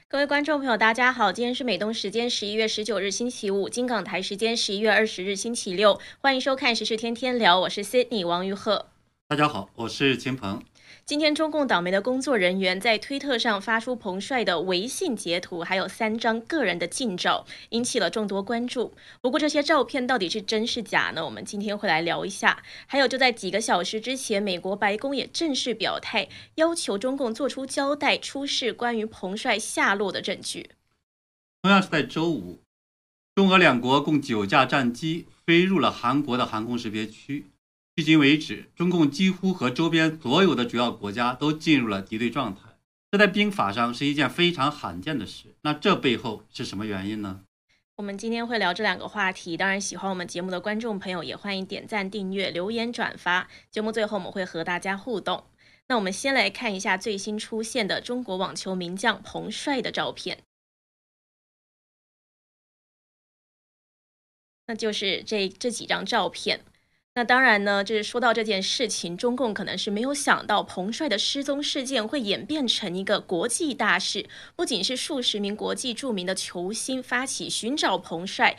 各位观众朋友，大家好，今天是美东时间11月19日星期五，金港台时间11月20日星期六，欢迎收看时事天天聊，我是 Sydney 王玉鹤。 大家好，我是秦鹏。 今天中共党媒的工作人员在推特上发出彭帅的微信截图，还有3张个人的近照，引起了众多关注。不过这些照片到底是真是假呢？我们今天会来聊一下。还有就在几个小时之前，美国白宫也正式表态，要求中共做出交代，出示关于彭帅下落的证据。 同样是在周五，中俄两国共9架战机飞入了韩国的航空识别区。迄今为止，中共几乎和周边所有的主要国家都进入了敌对状态，这在兵法上是一件非常罕见的事。那这背后是什么原因呢？ 我们今天会聊这2个话题，当然喜欢我们节目的观众朋友也欢迎点赞、订阅、留言、转发。节目最后我们会和大家互动。那我们先来看一下最新出现的中国网球名将彭帅的照片。那就是这几张照片。那当然呢，就是说到这件事情，中共可能是没有想到彭帅的失踪事件会演变成一个国际大事，不仅是数十名国际著名的球星发起寻找彭帅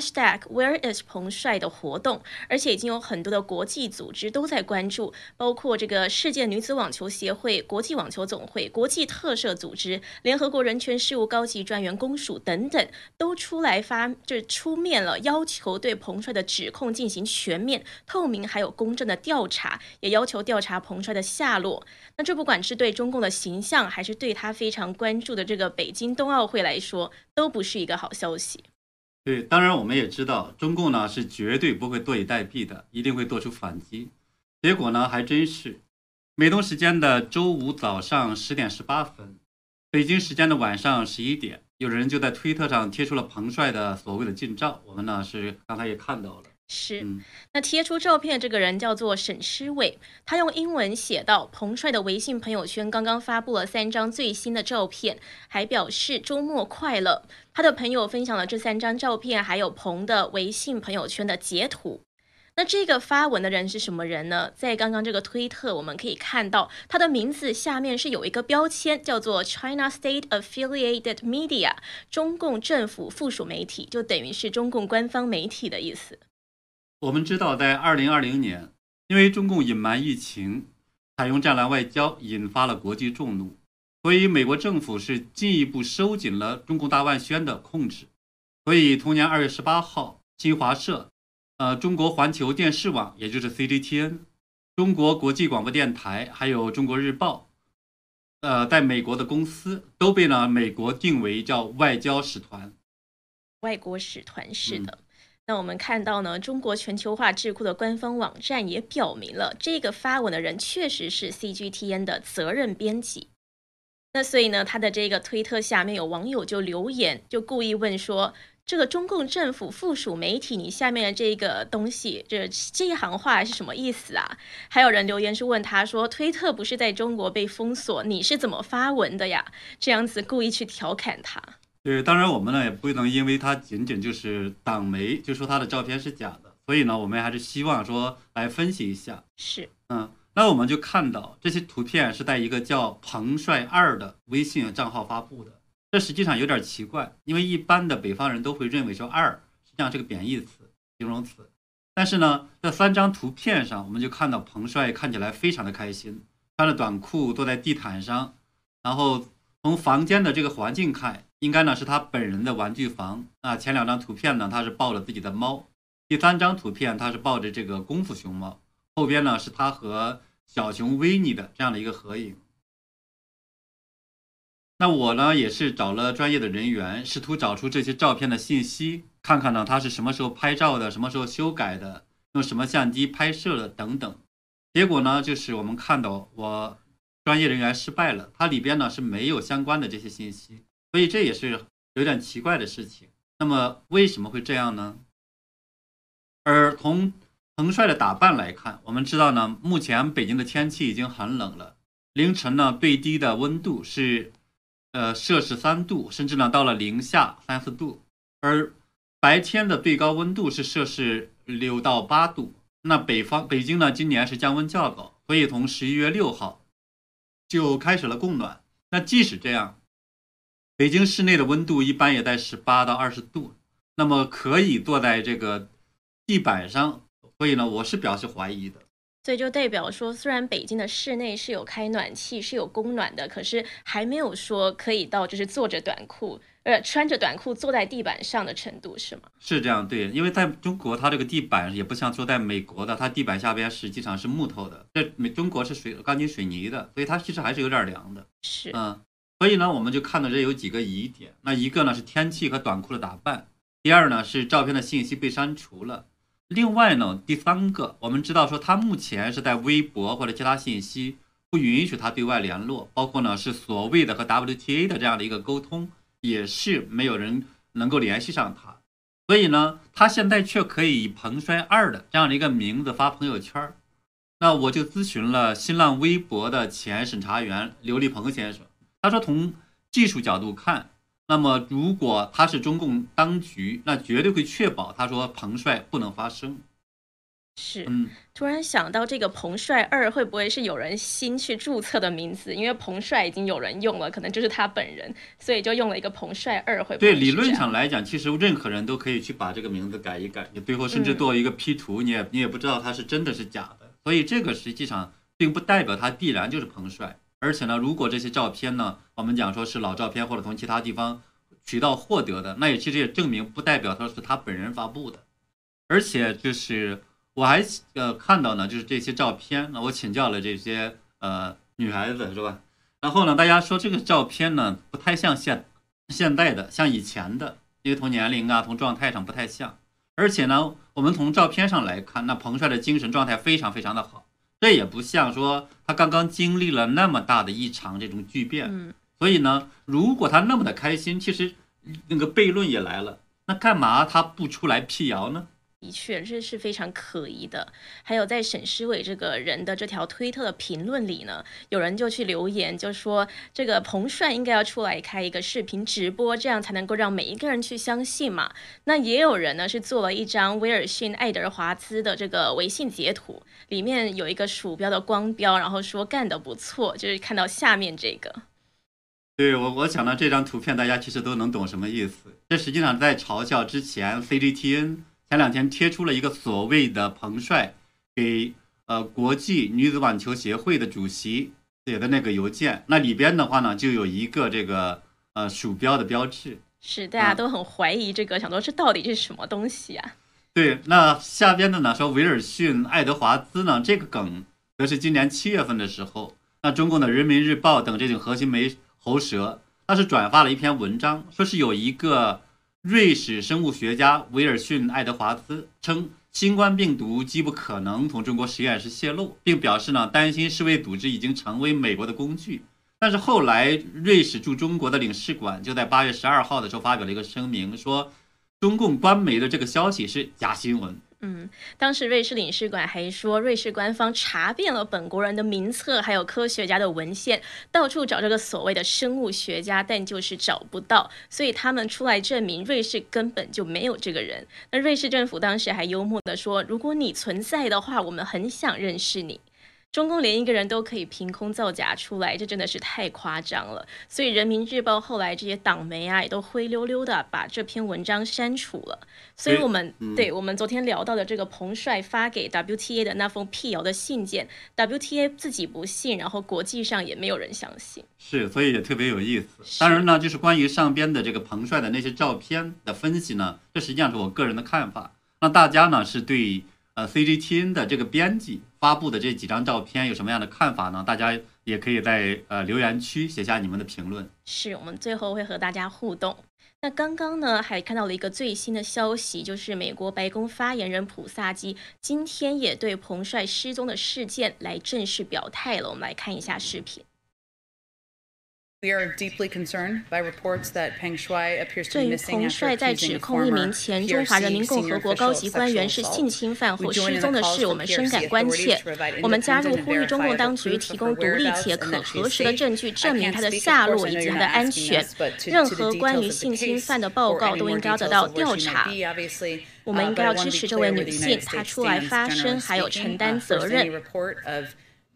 #Where is 彭帅的活动，而且已经有很多的国际组织都在关注，包括这个世界女子网球协会、国际网球总会、国际特赦组织、联合国人权事务高级专员公署等等，都出来出面了，要求对彭帅的指控进行全面、透明还有公正的调查，也要求调查彭帅的下落。那这不管是对中共的形象，还是对他非常关注的这个北京冬奥会来说，都不是一个好消息。 对，当然我们也知道，中共呢是绝对不会坐以待毙的，一定会做出反击。结果呢还真是，美东时间的周五早上10点18分，北京时间的晚上11点，有人就在推特上贴出了彭帅的所谓的近照，我们呢是刚才也看到了。 是，那贴出照片的这个人叫做沈诗伟，他用英文写道：彭帅的微信朋友圈刚刚发布了3张最新的照片，还表示周末快乐。他的朋友分享了这3张照片，还有彭的微信朋友圈的截图。那这个发文的人是什么人呢？在刚刚这个推特，我们可以看到他的名字下面是有一个标签，叫做 China State Affiliated Media， 中共政府附属媒体，就等于是中共官方媒体的意思。 我们知道，在2020年，因为中共隐瞒疫情，采用战狼外交，引发了国际众怒，所以美国政府是进一步收紧了中共大外宣的控制。所以同年2月18号，新华社、中国环球电视网，也就是 CGTN、中国国际广播电台，还有中国日报，在美国的公司都被美国定为叫外交使团。 外国使团是的。那我们看到呢，中国全球化智库的官方网站也表明了，这个发文的人确实是 CGTN 的责任编辑。那所以呢，他的这个推特下面有网友就留言，就故意问说，这个中共政府附属媒体，你下面的这个东西，这一行话是什么意思啊？还有人留言是问他说，推特不是在中国被封锁，你是怎么发文的呀？这样子故意去调侃他。 对，当然我们呢也不能因为他仅仅就是党媒就说他的照片是假的，所以呢我们还是希望说来分析一下。 是， 那我们就看到这些图片是在一个叫彭帅2的微信账号发布的，这实际上有点奇怪，因为一般的北方人都会认为说2实际上是个贬义词、形容词，但是呢这3张图片上我们就看到彭帅看起来非常的开心，穿着短裤坐在地毯上，然后从房间的这个环境看，应该呢是他本人的玩具房啊。前2张图片呢，他是抱着自己的猫；第3张图片，他是抱着这个功夫熊猫。后边呢是他和小熊维尼的这样的一个合影。那我呢也是找了专业的人员，试图找出这些照片的信息，看看呢他是什么时候拍照的，什么时候修改的，用什么相机拍摄的等等。结果呢，就是我们看到我专业人员失败了，它里边呢是没有相关的这些信息。所以这也是有点奇怪的事情。那么为什么会这样呢？而从彭帅的打扮来看，我们知道呢，目前北京的天气已经很冷了，凌晨呢最低的温度是摄氏3度，甚至呢到了零下3、4度，而白天的最高温度是摄氏6到8度。那北京呢今年是降温较早，所以从11月6号就开始了供暖。那即使这样， 北京市内的温度一般也在18到20度，那么可以坐在这个地板上，所以呢，我是表示怀疑的。 所以就代表说，虽然北京的室内是有开暖气，是有供暖的，可是还没有说可以到就是穿着短裤坐在地板上的程度，是吗？ 是这样，对，因为在中国，它这个地板也不像说在美国的，它地板下边实际上是木头的，中国是钢筋水泥的，所以它其实还是有点凉的。 是， 所以呢，我们就看到这有几个疑点。那一个呢是天气和短裤的打扮，第二呢是照片的信息被删除了。另外呢，第三个，我们知道说他目前是在微博或者其他信息不允许他对外联络，包括呢是所谓的和 WTA 的这样的一个沟通，也是没有人能够联系上他。所以呢，他现在却可以以彭帅2的这样的一个名字发朋友圈。那我就咨询了新浪微博的前审查员刘立鹏先生，他说从技术角度看，那么如果他是中共当局，那绝对会确保他说彭帅不能发声。 是，突然想到这个彭帅2会不会是有人新去注册的名字？因为彭帅已经有人用了，可能就是他本人，所以就用了一个彭帅2，会不会？ 对，理论上来讲，其实任何人都可以去把这个名字改一改，你最后甚至做一个 P 图，你也不知道他是真的是假的。所以这个实际上并不代表他必然就是彭帅。而且呢，如果这些照片呢，我们讲说是老照片或者从其他地方渠道获得的，那也其实也证明不代表他是他本人发布的。而且就是我还看到呢，就是这些照片，那我请教了这些女孩子是吧？然后呢，大家说这个照片呢不太像现代的，像以前的，因为从年龄啊从状态上不太像。而且呢，我们从照片上来看，那彭帅的精神状态非常非常的好。这也不像说他刚刚经历了那么大的一场这种巨变，所以呢，如果他那么的开心，其实那个悖论也来了，那干嘛他不出来辟谣呢？ 的确，这是非常可疑的。还有在沈诗伟这个人的这条推特的评论里呢，有人就去留言，就说这个彭帅应该要出来开一个视频直播，这样才能够让每一个人去相信嘛。那也有人呢是做了一张威尔逊·爱德华兹的这个微信截图，里面有一个鼠标的光标，然后说干得不错，就是看到下面这个。 对，我想到这张图片，大家其实都能懂什么意思。这实际上在嘲笑之前 CGTN。前2天贴出了一个所谓的彭帅给国际女子网球协会的主席写的那个邮件，那里边的话呢就有一个这个鼠标的标志， 是大家都很怀疑这个，想说这到底是什么东西啊？ 对，那下边的呢说威尔逊·爱德华兹呢，这个梗则是今年7月份的时候，那中共的人民日报等这种核心媒喉舌，他是转发了一篇文章，说是有一个瑞士生物学家威尔逊·爱德华兹称，新冠病毒极不可能从中国实验室泄露，并表示呢，担心世卫组织已经成为美国的工具。但是后来，瑞士驻中国的领事馆就在8月12号的时候发表了一个声明，说中共官媒的这个消息是假新闻。 当时瑞士领事馆还说，瑞士官方查遍了本国人的名册，还有科学家的文献，到处找这个所谓的生物学家，但就是找不到，所以他们出来证明瑞士根本就没有这个人。那瑞士政府当时还幽默地说，如果你存在的话，我们很想认识你。中共连一个人都可以凭空造假出来，这真的是太夸张了。所以人民日报后来这些党媒啊，也都灰溜溜的把这篇文章删除了。所以我们我们昨天聊到的这个彭帅发给 WTA 的那封辟谣的信件， WTA 自己不信，然后国际上也没有人相信。 是，所以也特别有意思。当然呢，就是关于上边的这个彭帅的那些照片的分析呢，这实际上是我个人的看法。那大家呢是对CGTN 的这个编辑发布的这几张照片有什么样的看法呢？大家也可以在留言区写下你们的评论。 是，我们最后会和大家互动。那刚刚呢还看到了一个最新的消息，就是美国白宫发言人普萨基今天也对彭帅失踪的事件来正式表态了。我们来看一下视频。 We are deeply concerned by reports that Peng Shuai appears to 对 be 于 missing 彭 after 帅在指 accusing 控一 former 名前中华人民 PRC 共和 senior 国高 official 级 of 官员 sexual 是 assault. 性侵犯 We 后 join 失 in 踪 the 的 calls 事，我 for 们深 PRC 感关 authorities 切。 to provide 我们加入 independent and 呼吁中共 verifiable 当局 proof 提 of 供 her 独立 whereabouts 且 and 可 that she 核 is 实的 safe. 证据，证 I 明 can't 他的 speak, of 下 course, 落 I 以 know 及 you're 他 not 的安 asking 全。 us, but to 任 the 何关 details 于 of the 性侵 case 犯的报 or 告 any 都 more 应该要得 details 到 of where 调 she 查。 might be, obviously. 我们应 But 该 I 要 want 支 to be 持这位 clear where 女 the 性， United 她 States 出来 stands, 发声， generally 还有承 speaking, 担责 first, 任 any。report of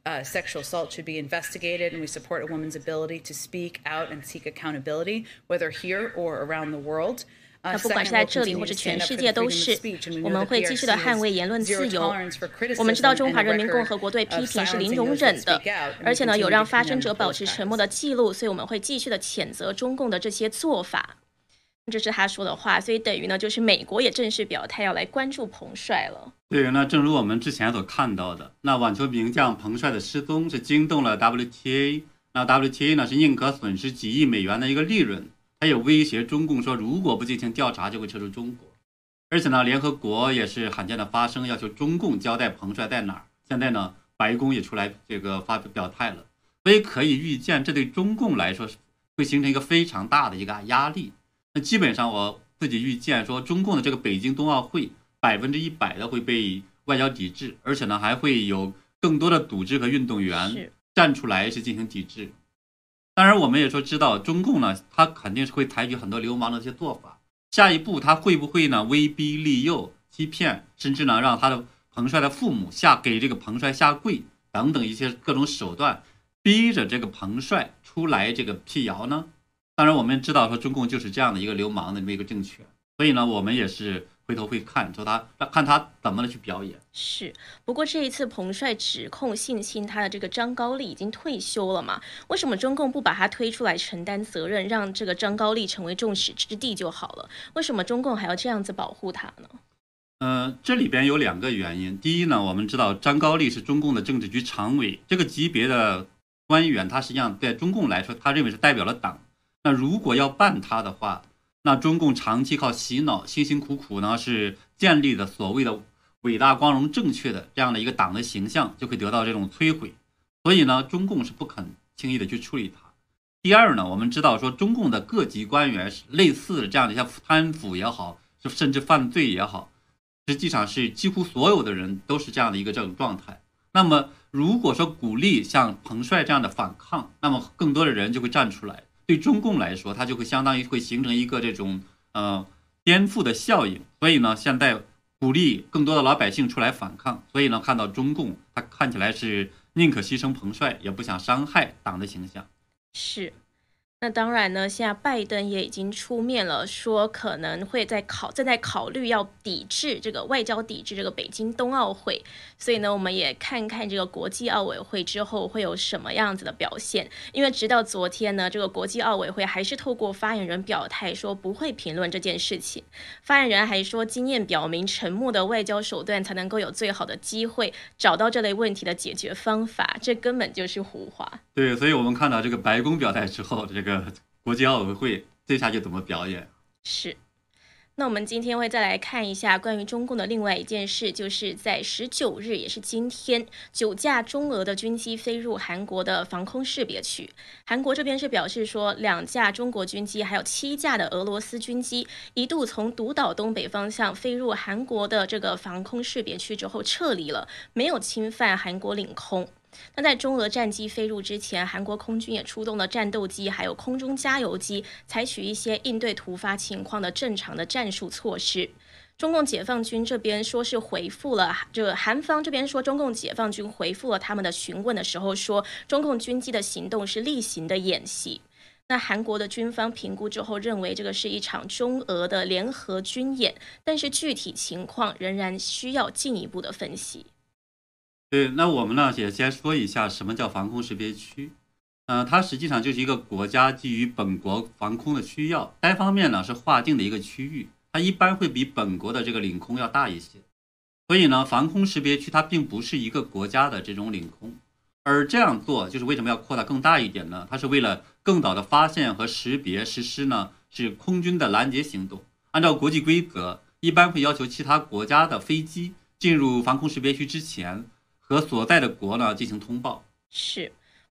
sexual assault should be investigated, and we support a woman's ability to speak out and seek accountability, whether here or around the world. 那不管是在这里或者全世界都是，我们会继续的捍卫言论自由。我们知道中华人民共和国对批评是零容忍的，而且呢有让发声者保持沉默的记录，所以我们会继续的谴责中共的这些做法。这是他说的话，所以等于呢就是美国也正式表态要来关注彭帅了。 对，那正如我们之前所看到的，那网球名将彭帅的失踪是惊动了 WTA， 那 WTA 呢是宁可损失几亿美元的一个利润。还有威胁中共说，如果不进行调查，就会撤出中国。而且呢，联合国也是罕见的发声，要求中共交代彭帅在哪儿。现在呢，白宫也出来发表态了，所以可以预见，这对中共来说会形成一个非常大的一个压力。那基本上我自己预见说，中共的这个北京冬奥会100%的会被外交抵制，而且呢，还会有更多的组织和运动员站出来是进行抵制。当然我们也说知道中共呢，他肯定是会采取很多流氓的一些做法，下一步他会不会呢威逼利诱欺骗，甚至呢让他的彭帅的父母给这个彭帅下跪等等一些各种手段，逼着这个彭帅出来这个辟谣呢？当然我们知道说中共就是这样的一个流氓的这么一个政权，所以呢我们也是回头会看他怎么去表演。 是，不过这一次彭帅指控性侵他的这个张高丽已经退休了嘛？为什么中共不把他推出来承担责任，让这个张高丽成为众矢之的就好了？为什么中共还要这样子保护他呢？ 这里边有2个原因。第一呢，我们知道张高丽是中共的政治局常委，这个级别的官员，他实际上在中共来说，他认为是代表了党。那如果要办他的话，那中共长期靠洗脑，辛辛苦苦呢是建立的所谓的伟大、光荣、正确的这样的一个党的形象，就会得到这种摧毁。所以呢，中共是不肯轻易的去处理它。第二呢，我们知道说中共的各级官员类似的这样的像贪腐也好，甚至犯罪也好，实际上是几乎所有的人都是这样的一个这种状态。那么如果说鼓励像彭帅这样的反抗，那么更多的人就会站出来。对中共来说，它就会相当于会形成一个这种颠覆的效应。所以呢，现在鼓励更多的老百姓出来反抗。所以呢，看到中共，他看起来是宁可牺牲彭帅，也不想伤害党的形象。 是。那当然呢，现在拜登也已经出面了，说可能会正在考虑要抵制这个外交抵制这个北京冬奥会，所以呢，我们也看看这个国际奥委会之后会有什么样子的表现。因为直到昨天呢，这个国际奥委会还是透过发言人表态说不会评论这件事情。发言人还说，经验表明，沉默的外交手段才能够有最好的机会找到这类问题的解决方法，这根本就是胡话。 对，所以我们看到这个白宫表态之后，这个国际奥委会这下就怎么表演？ 是。那我们今天会再来看一下关于中共的另外一件事，就是在19日，也是今天，9架中俄的军机飞入韩国的防空识别区。韩国这边是表示说，2架中国军机还有7架的俄罗斯军机一度从独岛东北方向飞入韩国的这个防空识别区之后撤离了，没有侵犯韩国领空。那在中俄战机飞入之前，韩国空军也出动了战斗机还有空中加油机，采取一些应对突发情况的正常的战术措施。中共解放军这边说是回复了，韩方这边说中共解放军回复了他们的询问的时候说，中共军机的行动是例行的演习。那韩国的军方评估之后认为这个是一场中俄的联合军演，但是具体情况仍然需要进一步的分析。 对，那我们呢也先说一下什么叫防空识别区。它实际上就是一个国家基于本国防空的需要，单方面呢是划定的一个区域，它一般会比本国的这个领空要大一些。所以呢，防空识别区它并不是一个国家的这种领空，而这样做就是为什么要扩大更大一点呢？它是为了更早的发现和识别实施呢是空军的拦截行动。按照国际规则，一般会要求其他国家的飞机进入防空识别区之前和所在的国呢进行通报。 是，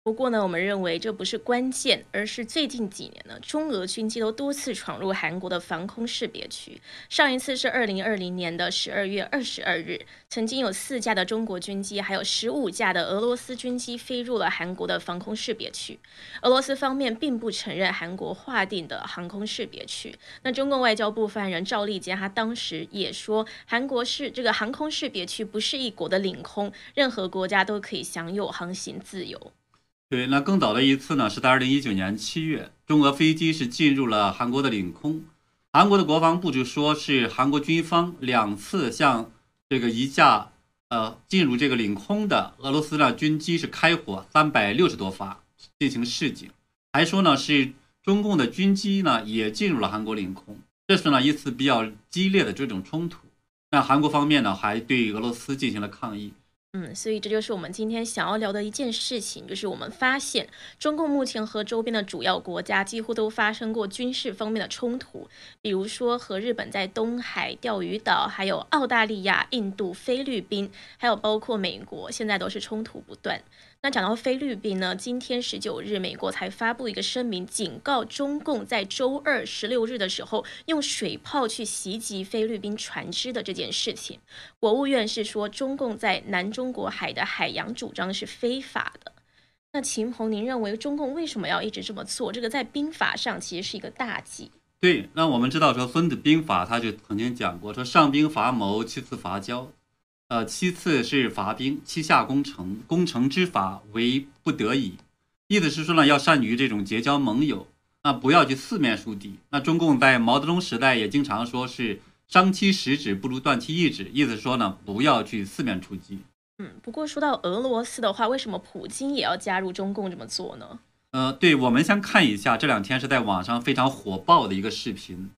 不过呢，我们认为这不是关键，而是最近几年呢，中俄军机都多次闯入韩国的防空识别区。上一次是2020年的12月22日，曾经有4架的中国军机，还有15架的俄罗斯军机飞入了韩国的防空识别区。俄罗斯方面并不承认韩国划定的航空识别区。那中共外交部发言人赵立坚他当时也说，韩国是这个航空识别区不是一国的领空，任何国家都可以享有航行自由。 对，那更早的一次呢，是在2019年7月，中俄飞机是进入了韩国的领空。韩国的国防部就说是韩国军方2次向这个一架进入这个领空的俄罗斯的军机是开火360多发进行示警，还说呢是中共的军机呢也进入了韩国领空，这是呢一次比较激烈的这种冲突。那韩国方面呢还对俄罗斯进行了抗议。 所以这就是我们今天想要聊的一件事情，就是我们发现中共目前和周边的主要国家几乎都发生过军事方面的冲突，比如说和日本在东海、钓鱼岛，还有澳大利亚、印度、菲律宾，还有包括美国，现在都是冲突不断。那讲到菲律宾呢，今天19日，美国才发布一个声明，警告中共在周二16日的时候用水炮去袭击菲律宾船只的这件事情。国务院是说，中共在南中国海的海洋主张是非法的。那秦鹏，您认为中共为什么要一直这么做？这个在兵法上其实是一个大忌。 对，那我们知道说《孙子兵法》他就曾经讲过，说上兵伐谋，其次伐交。其次是伐兵，其下攻城，攻城之法为不得已。意思是说呢，要善于这种结交盟友，那不要去四面树敌。那中共在毛泽东时代也经常说是伤其十指不如断其一指，意思说呢，不要去四面出击。 不过说到俄罗斯的话，为什么普京也要加入中共这么做呢？ 对，我们先看一下这2天是在网上非常火爆的一个视频。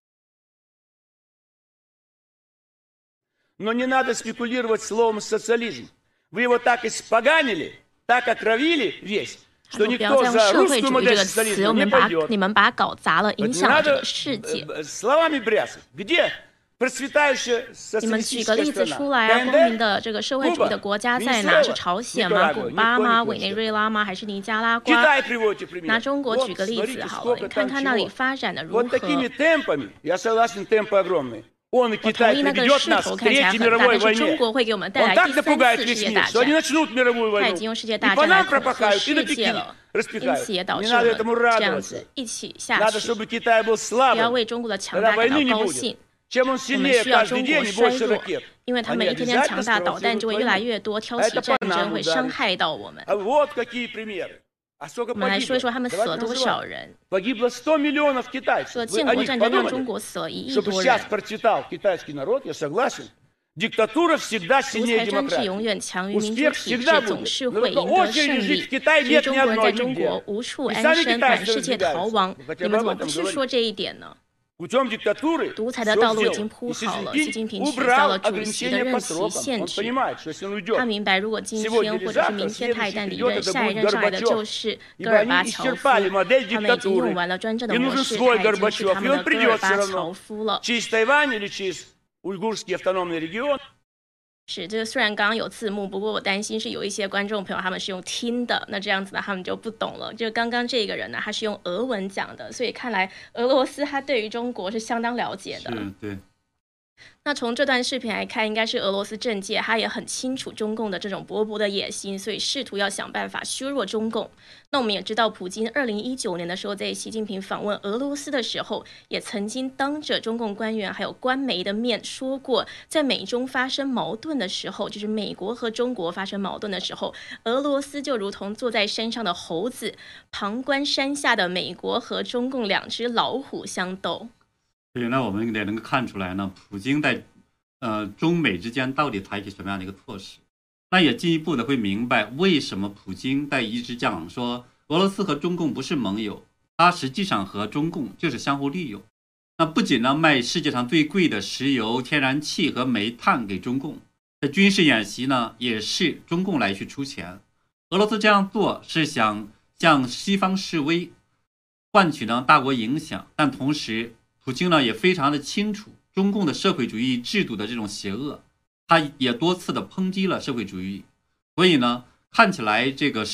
Но не надо спекулировать словом «социализм». Вы его так испоганили, так отравили весь, что никто за русскую модель социализма не пойдет. 你们把稿砸了，影响了这个世界。 Словами брясать. Где процветающая 你们举个 социалистическая 例子 страна? 出来啊！光明的这个社会主义的国家在哪？是朝鲜吗？古巴吗？委内瑞拉吗？还是尼加拉瓜？ Китай приводите пример. 拿中国举个例子好了，你看看那里发展的如何？ Вот такими темпами, я согласен, темпы огромные. Он и 我同 Китай 意那个 приведет 势 нас 头 к 看起来 Третьей 很大， мировой 但是中 войне. 国会给我们带 Он 来 так 第3 напугает 次世 весь 界 мир, 大 что они 战。 начнут мировую 他已 войну. 经用世界 И 大 по 战来 нам 恐吓 пропахают, и на 世界 Пекин 了，因 распекают. 此也导 Не 致我 надо 们 этому 这样 радоваться. 子一起下 Надо, 去， чтобы Китай был 不要 слабым. 为中国的强 Тогда 大感 войны 到 не 高 будет. 兴。 Чем он 我们 сильнее 需要 каждый 中 день 国 и 衰 больше 弱， ракет. 因为他 Они 们一天天 обязательно 强大，导弹 спровоцируют 就会越来 войну. 越多，挑 А 起 это 战 по 争， нам 会伤 ударит. 害到我们。 А вот какие примеры. А сколько 我们来说一 погибло? 说他们死 Давайте 了多 называть. 少人。 Погибло 100 миллионов 这 китайцев. 个 Вы 建 о 国 них 战争让中 подумали? 国死了1亿 Чтобы 多 сейчас 人。 процветал китайский народ, я согласен. Диктатура всегда 独 сильнее 裁专制永 демократии. 远强于民主 Успех 体 всегда 制，总 будет. 是 Но 会 только 赢得 очередь 胜 жить 利 в。Китае 其实 нет 中 ни 国人在 одной 中国 нигде. 无处 И 安 сами 身，满 китайцы 世界逃亡。 разбегаются. 你 Хотя 们 бы 怎 об 么 этом 不去 говорить. 说这一点呢？ Путем диктатуры 独裁的 всё 道路已 сделано. 经铺 И Си 好了，习近 Цзиньпин 平取消了 убрал 主席的 ограничения 任 по 期 срокам. 限 Он 制。 понимает, что если он 他 уйдет 明白，如果今 сегодня 天 или 或者是 завтра, 明天他一 следующий 旦离 придет, 任， это 下一 будет 任上来的 Горбачев. 就是戈 Ибо 尔 они 巴乔夫。 исчерпали модель 他们已经用 диктатуры. 完了专政的 И 模 нужен 式， свой 他已经是 Горбачев. 他 И 们 он 的戈 придет 尔 все 巴 равно. 乔夫了。 Через Тайвань или через уйгурский автономный регион. 是这个虽然刚刚有字幕，不过我担心是有一些观众朋友他们是用听的，那这样子呢他们就不懂了。就刚刚这个人呢，他是用俄文讲的，所以看来俄罗斯他对于中国是相当了解的。 是，对。 那从这段视频来看，应该是俄罗斯政界他也很清楚中共的这种勃勃的野心，所以试图要想办法削弱中共。那我们也知道，普京2019年的时候，在习近平访问俄罗斯的时候，也曾经当着中共官员还有官媒的面说过，在美中发生矛盾的时候，就是美国和中国发生矛盾的时候，俄罗斯就如同坐在山上的猴子，旁观山下的美国和中共2只老虎相斗。 对，那我们也能够看出来呢，普京在中美之间到底采取什么样的一个措施？那也进一步的会明白为什么普京在一直讲说俄罗斯和中共不是盟友，他实际上和中共就是相互利用。那不仅呢卖世界上最贵的石油、天然气和煤炭给中共，在军事演习呢也是中共来去出钱。俄罗斯这样做是想向西方示威，换取呢大国影响，但同时普京呢也非常的清楚中共的社会主义制度的这种邪恶，他也多次的抨击了社会主义，所以呢看起来这个是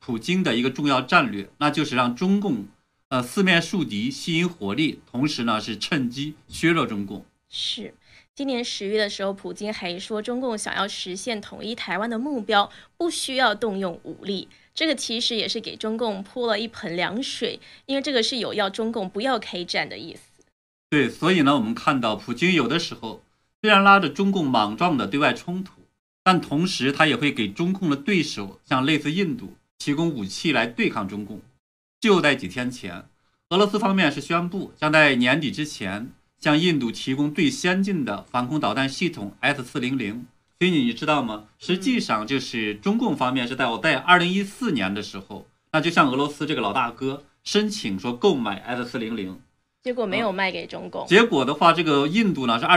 普京的一个重要战略，那就是让中共四面树敌，吸引火力，同时呢是趁机削弱中共。 是。今年10月的时候，普京还说，中共想要实现统一台湾的目标，不需要动用武力。这个其实也是给中共泼了一盆凉水，因为这个是有要中共不要开战的意思。 对，所以呢，我们看到普京有的时候虽然拉着中共莽撞的对外冲突，但同时他也会给中共的对手，像类似印度，提供武器来对抗中共。就在几天前，俄罗斯方面是宣布将在年底之前向印度提供最先进的防空导弹系统 S-400。所以你知道吗？实际上就是中共方面是在2014年的时候，那就向俄罗斯这个老大哥申请说购买 S-400， 结果没有卖给中共。 结果的话，这个印度呢是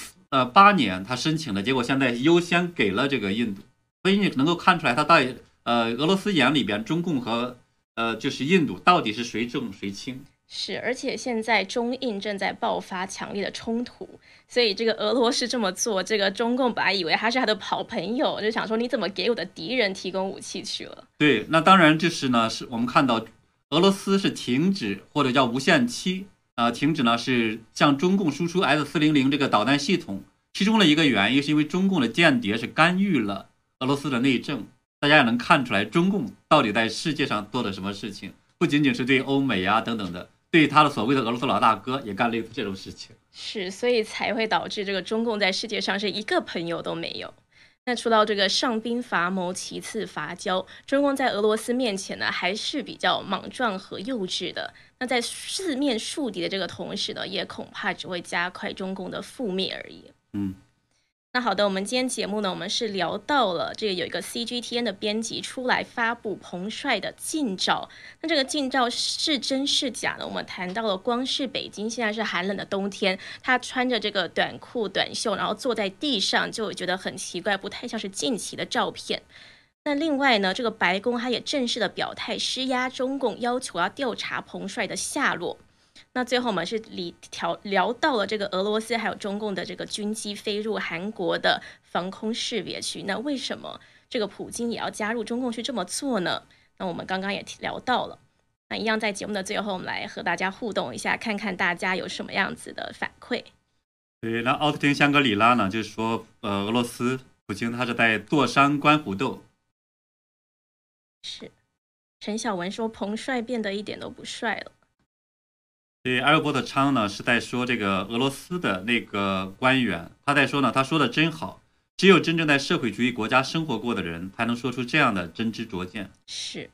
2018年他申请的，结果现在优先给了这个印度。所以你能够看出来，他到底俄罗斯眼里边，中共和就是印度到底是谁重谁轻。 是，而且现在中印正在爆发强烈的冲突，所以这个俄罗斯这么做，这个中共本来以为他是他的好朋友，就想说你怎么给我的敌人提供武器去了？ 对，那当然就是呢，是我们看到俄罗斯是停止或者叫无限期停止呢是向中共输出 S-400这个导弹系统，其中的一个原因是因为中共的间谍是干预了俄罗斯的内政。大家也能看出来，中共到底在世界上做了什么事情，不仅仅是对欧美啊等等的。对他的所谓的俄罗斯老大哥也干类似这种事情， 是，所以才会导致这个中共在世界上是一个朋友都没有。那除了这个上兵伐谋，其次伐交，中共在俄罗斯面前呢，还是比较莽撞和幼稚的。那在四面树敌的这个同时呢，也恐怕只会加快中共的覆灭而已。那好的，我们今天节目呢，我们是聊到了这个有一个 CGTN 的编辑出来发布彭帅的近照，那这个近照是真是假呢？我们谈到了，光是北京现在是寒冷的冬天，他穿着这个短裤短袖，然后坐在地上，就觉得很奇怪，不太像是近期的照片。那另外呢，这个白宫他也正式的表态施压中共，要求要调查彭帅的下落。那最后我们是聊到了这个俄罗斯还有中共的这个军机飞入韩国的防空识别区，那为什么这个普京也要加入中共去这么做呢？那我们刚刚也聊到了，那一样在节目的最后，我们来和大家互动一下，看看大家有什么样子的反馈。 对，那奥斯汀香格里拉呢，就是说俄罗斯普京他是在坐山观虎斗。 是，陈小文说彭帅变得一点都不帅了。 对，阿尔伯特昌呢是在说这个俄罗斯的那个官员，他在说呢，他说的真好，只有真正在社会主义国家生活过的人，才能说出这样的真知灼见。 是。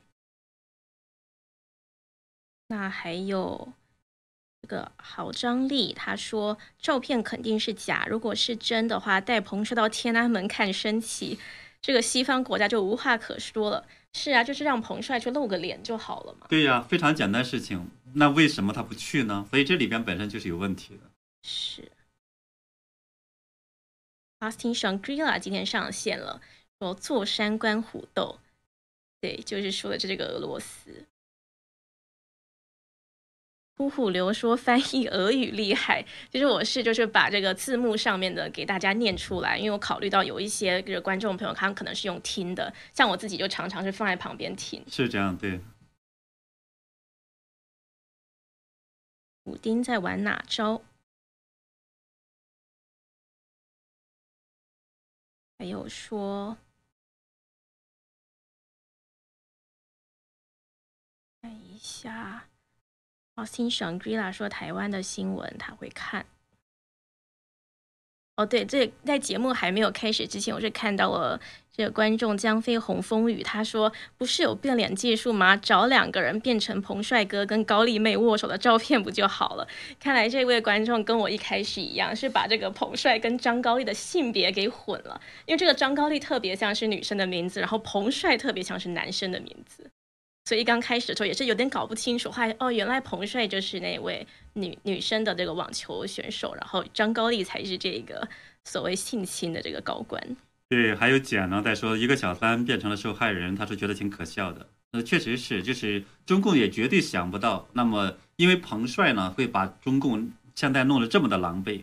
那还有这个郝张力，他说照片肯定是假，如果是真的话，带彭帅到天安门看升旗，这个西方国家就无话可说了。是啊，就是让彭帅去露个脸就好了嘛。 对呀，非常简单事情，那为什么他不去呢？所以这里边本身就是有问题的。 是。Austin Shangri-La 今天上线了，说坐山观虎斗，对，就是说的这个俄罗斯。呼呼流说翻译俄语厉害，其实我是就是把这个字幕上面的给大家念出来，因为我考虑到有一些观众朋友他们可能是用听的，像我自己就常常是放在旁边听。 是这样，对。 补丁在玩哪招？还有说，看一下。Austin Shangri-La 说台湾的新闻他会看。哦，对，这在节目还没有开始之前，我是看到了这个观众江飞红风雨，他说不是有变脸技术吗？找2个人变成彭帅哥跟高丽妹握手的照片不就好了？看来这位观众跟我一开始一样，是把这个彭帅跟张高丽的性别给混了，因为这个张高丽特别像是女生的名字，然后彭帅特别像是男生的名字。所以刚开始的时候也是有点搞不清楚，原来彭帅就是那位女生的这个网球选手，然后张高丽才是这个所谓性侵的这个高官。 对，还有简呢在说一个小三变成了受害人，他是觉得挺可笑的。确实是，就是中共也绝对想不到，那么因为彭帅呢会把中共现在弄得这么的狼狈。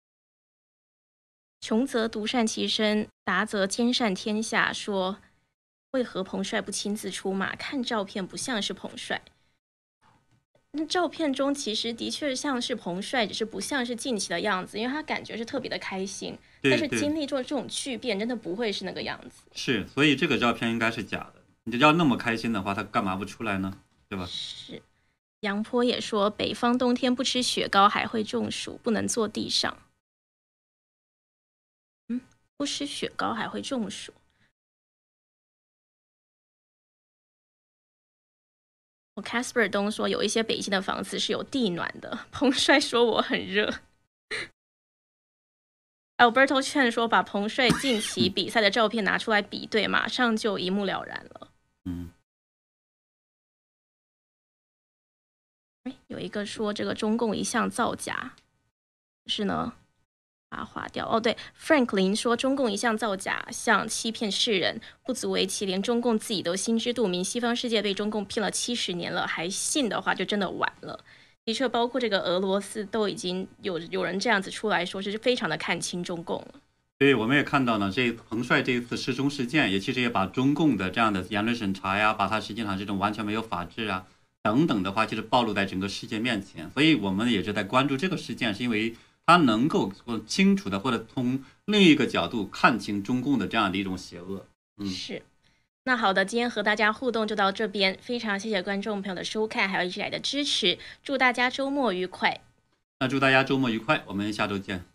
穷则独善其身，达则兼善天下，说为何彭帅不亲自出马？看照片不像是彭帅。那照片中其实的确像是彭帅，只是不像是近期的样子，因为他感觉是特别的开心。但是经历过这种巨变，真的不会是那个样子。 是，所以这个照片应该是假的。你要那么开心的话，他干嘛不出来呢？对吧？ 是。杨坡也说，北方冬天不吃雪糕还会中暑，不能坐地上。不吃雪糕还会中暑。Casper 东说，有一些北京的房子是有地暖的。彭帅说我很热。Alberto 劝说，把彭帅近期比赛的照片拿出来比对，马上就一目了然了。有一个说这个中共一向造假，是呢，把它划掉。对 ，Frank 林说中共一向造假，向欺骗世人，不足为奇，连中共自己都心知肚明，西方世界被中共骗了70年了，还信的话就真的晚了。的确，包括这个俄罗斯都已经有人这样子出来说，是非常的看清中共了。 对，我们也看到呢，这彭帅这一次失踪事件，也其实也把中共的这样的言论审查呀，把它实际上这种完全没有法治啊等等的话，其实暴露在整个世界面前。所以我们也是在关注这个事件，是因为它能够清楚的或者从另一个角度看清中共的这样的一种邪恶。 是。那好的，今天和大家互动就到这边，非常谢谢观众朋友的收看，还有一直以来的支持，祝大家周末愉快。 那祝大家周末愉快，我们下周见。